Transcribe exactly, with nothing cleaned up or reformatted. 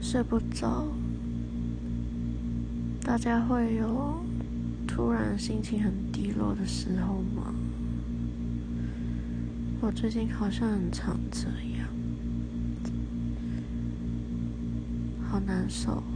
睡不着，大家会有突然心情很低落的时候吗？我最近好像很常这样，好难受。